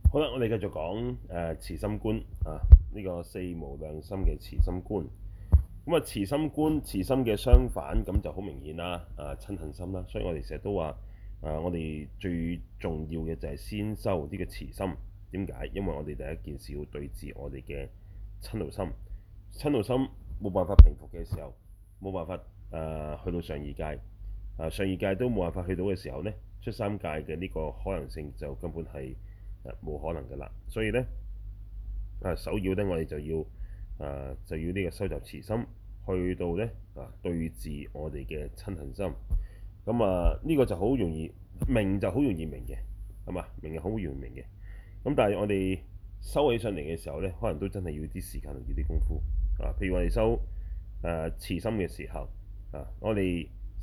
好啦，我哋繼續講慈心觀啊，呢、個四無量心嘅慈心觀。咁啊，慈心觀、慈心嘅相反，咁就好明顯啦。嗔恨心啦，所以我哋成日都話我哋最重要嘅就係先修呢個慈心。點解？因為我哋第一件事要對治我哋嘅嗔怒心。嗔怒心冇辦法平復嘅時候，冇辦法去到上二界，上二界都冇辦法去到嘅時候呢，出三界嘅呢個可能性就根本係冇可能㗎啦。所以呢，首要呢，我哋就要呢個收集慈心，去到呢對治我哋嘅嗔恨心。咁呢個就好容易明，就好容易明嘅，係嘛？明係好容易明嘅。咁但係我哋收起上嚟嘅時候呢，可能都真係要啲時間同要啲功夫譬如我哋收慈心嘅時候我哋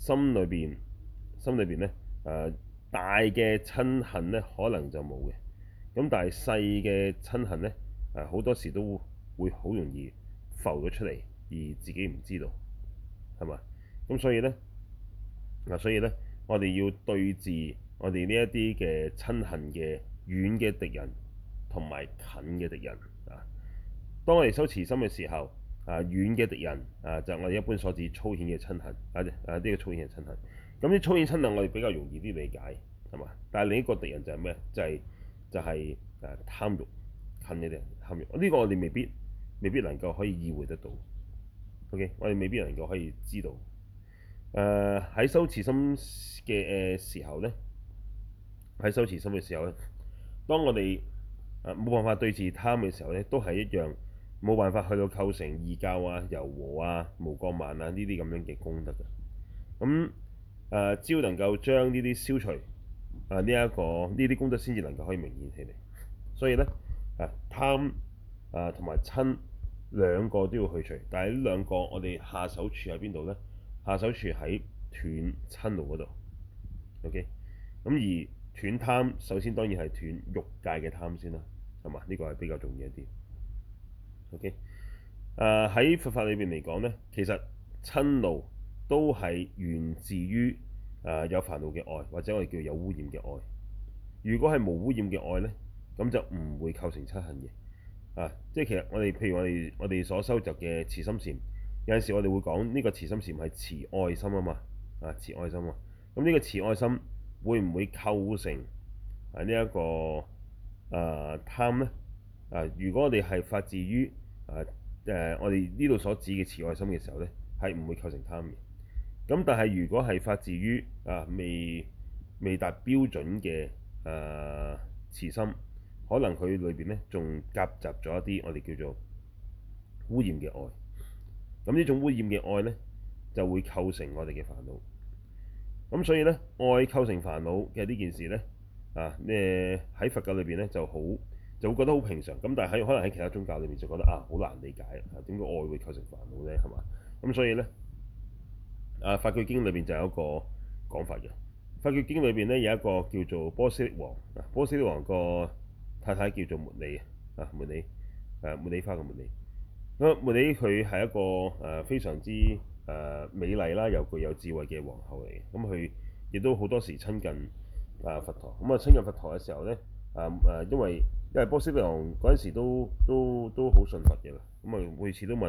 心裏邊呢，大嘅嗔恨呢，可能就冇嘅。咁但係細嘅嗔恨呢，好多時都會好容易浮咗出嚟，而自己唔知道，係嘛？咁所以呢，我哋要對治我哋呢一啲嘅嗔恨嘅遠嘅敵人同埋近嘅敵人啊。當我哋修慈心嘅時候，遠嘅敵人就係我哋一般所指粗顯嘅嗔恨呢個粗顯嘅嗔恨。咁啲粗顯嗔恨我哋比較容易啲理解，係嘛？但係另一個敵人就係咩？就係貪欲，近嘅敵人貪欲。呢個我哋未必能夠可以意會得到。OK，我哋未必能夠可以知道。喺修慈心嘅時候呢，喺修慈心嘅時候呢，當我哋冇辦法對治貪嘅時候呢，都係一樣冇辦法去到構成義教柔和無過慢呢啲咁樣嘅功德嘅。咁只要能夠將呢啲消除呢啲功德先至能夠可以明顯起嚟。所以呢，貪同埋嗔兩個都要去除，但係呢兩個我哋下手處喺邊度呢？下手處喺斷嗔怒嗰度。OK，咁而斷貪首先當然係斷欲界嘅貪先啦，係嘛？呢個係比較重要一啲。OK，喺佛法裏邊嚟講呢，其實嗔怒都係源自於有煩惱嘅愛，或者我哋叫有污染嘅愛。如果係無污染嘅愛呢，咁就唔會構成嗔恨嘅。即係其實譬如我哋所收集嘅慈心禪，有陣時我哋會講呢個慈心禪係慈愛心啊嘛，慈愛心啊。咁呢個慈愛心會唔會構成呢一個貪呢？如果我哋係發自於我哋呢度所指嘅慈愛心嘅時候呢，係唔會構成貪嘅。咁但係如果係發自於未達標準嘅慈心，可能佢裏邊咧仲夾雜咗一啲我哋叫做污染嘅愛。咁呢種污染嘅愛呢，就會構成我哋嘅煩惱。咁所以呢，愛構成煩惱嘅呢件事呢，喺佛教裏邊呢就會覺得好平常。咁但係可能喺其他宗教裏面就覺得好難理解點解愛會構成煩惱呢？係嘛？咁所以呢，法句經裏邊就有一個講法嘅。法句經裏邊咧有一個叫做波斯匿王，波斯匿王個太太叫做茉莉茉莉花嘅茉莉。咁茉莉佢係一個非常之美麗啦，又具有智慧嘅皇后嚟嘅。咁佢亦都好多時親近佛陀。咁親近佛陀嘅時候咧，因為波斯匿王嗰陣時都好信佛嘅啦。咁每次都問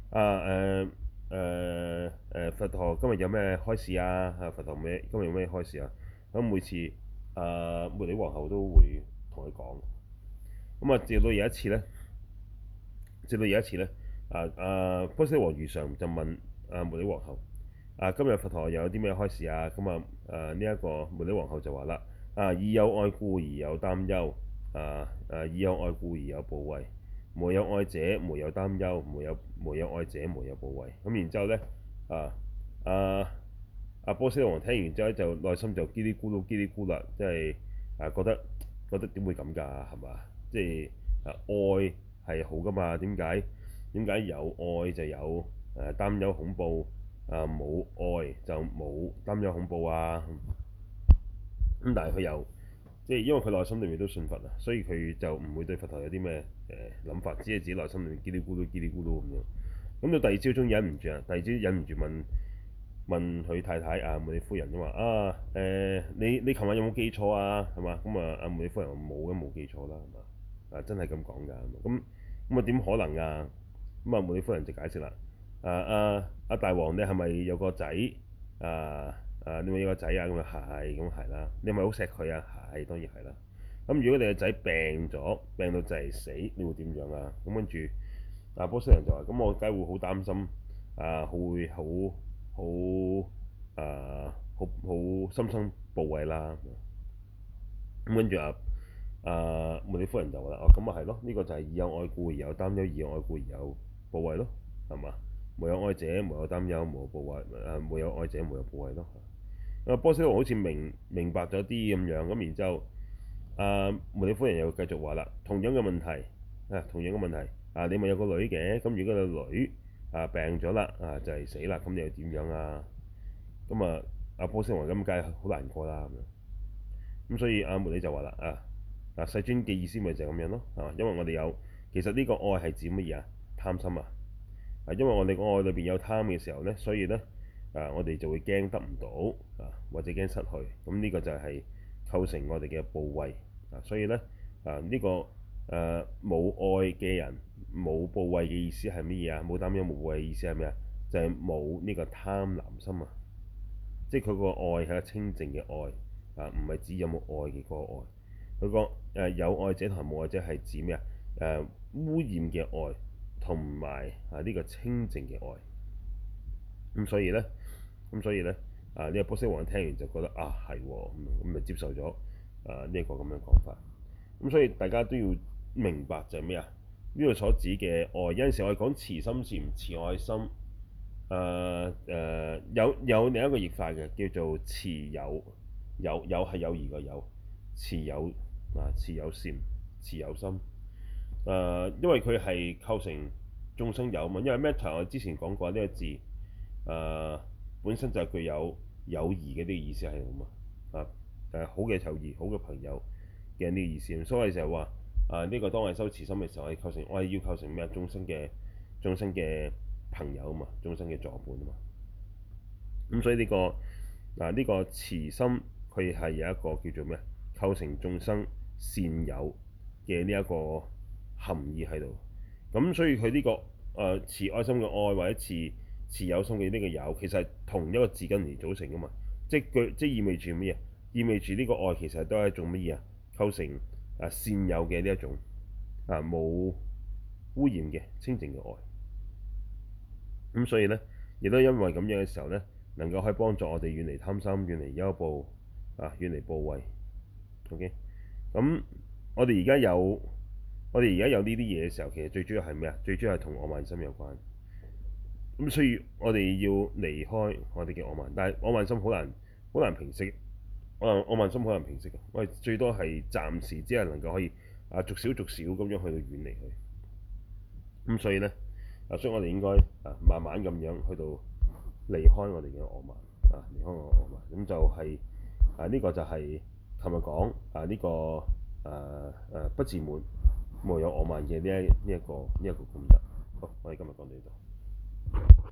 佛陀今日有咩開示啊？佛陀今日有咩開示啊？咁每次茉莉皇后都會同佢講。咁直到有一次咧，波斯匿王如常就問茉莉皇后今日佛陀又有啲咩開示啊？咁呢一個茉莉皇后就話啦以有愛故而有擔憂，以有愛故而有怖畏。無有愛者，無有擔憂；無有愛者，無有怖畏。咁然之後咧，波斯匿王聽完之後就內心就嘰哩咕嚕嘰哩咕啦，即係覺得點會咁㗎？係嘛？即係愛係好㗎嘛？點解有愛就有擔憂恐怖，冇愛就冇擔憂恐怖啊？咁但係佢又即係因為佢內心裏面都信佛所以佢就唔會對佛陀有啲咩諗法，只係自己內心裏面嘰哩咕嚕嘰哩咕嚕咁樣。咁到第二朝終於忍唔住問問佢太太啊，茉莉夫人咁話啊，你琴晚有冇記錯啊？係嘛？咁啊，阿茉莉夫人話冇嘅，冇記錯啦，係嘛？啊，真係咁講㗎，咁啊點可能啊？咁啊，茉莉夫人就解釋啦，大王你係咪有個仔啊？你咪有個仔啊？咁啊係，咁係啦。你係咪好錫佢啊？係，當然係啦。咁如果你個仔病咗，病到就係死，你會點樣啊？咁跟住波斯人就話：咁我梗係會好擔心會好深深部位啦。咁跟住茉莉夫人就話啦：哦，咁啊係咯，呢個就係以有愛故而有擔憂，以有愛故而有部位咯，係嘛？無有愛者，無有擔憂，無有部位，無有愛者，無有部位咯。波斯王好似明白咗啲咁樣，咁然之後，茉莉夫人又繼續話啦：同樣嘅問題同樣嘅問題你咪有個女嘅，咁如果個女病咗啦就係死啦，咁你又點樣啊？咁波斯王咁梗係好難過啦咁樣。咁所以茉莉就話啦世尊嘅意思咪就係咁樣咯，係嘛？因為我哋有其實呢個愛係指乜嘢啊？貪心啊！因為我哋個愛裏邊有貪嘅時候咧，所以咧我哋就會驚得唔到或者驚失去。咁呢個就係構成我哋嘅怖畏所以咧呢個冇愛嘅人冇怖畏嘅意思係乜嘢啊？冇擔憂冇怖畏嘅意思係咩啊？就係冇呢個貪婪心啊！即係佢個愛係一個清淨嘅愛唔係指有冇愛嘅嗰個愛。佢個有愛者同埋冇愛者係指咩啊？污染嘅愛同埋呢個清淨嘅愛。咁所以咧，呢個波斯王聽完就覺得係喎，咁咪接受咗呢一個咁樣講法。咁所以大家都要明白就係咩啊？呢度所指嘅愛，有陣時我哋講慈心禪、慈愛心，有另一個譯法嘅叫做慈友，友係友誼個友，慈友慈友禪、慈友心。因為佢係構成眾生友嘛，因為 metta 我之前講過呢個字本身就係具有友誼嘅呢個意思係咁好嘅友誼、好嘅朋友嘅呢個意思。所以就係話呢個當我哋修慈心嘅時候，我係要構成咩？眾生嘅朋友啊嘛，眾生嘅助伴啊嘛。咁所以呢個慈心佢係有一個叫做咩？構成眾生善友嘅呢一個含義喺度。咁所以佢呢個慈愛心嘅愛或者慈友心嘅呢個友，其實係同一個字根嚟組成噶嘛。即意味住乜嘢？意味住呢個愛其實都係一種乜嘢啊？構成善友嘅呢一種冇污染嘅清淨嘅愛。咁所以咧，亦都因為咁樣嘅時候咧，能夠可以幫助我哋遠離貪心、遠離憂怖遠離怖畏。OK，咁我哋而家有呢啲嘢嘅時候，其實最主要係咩啊？最主要係同我慢心有關。咁所以我哋要離開我哋嘅我慢，但係我慢心好難平息。我慢心好難平息嘅，我哋最多係暫時只係能夠可以逐少咁樣去到遠離佢。咁所以咧所以我哋應該慢慢咁樣去到離開我哋嘅我慢離開我慢。咁就係呢個就係琴日講呢個不自滿無有我慢嘅呢一個功德。好，我哋今日講到呢度。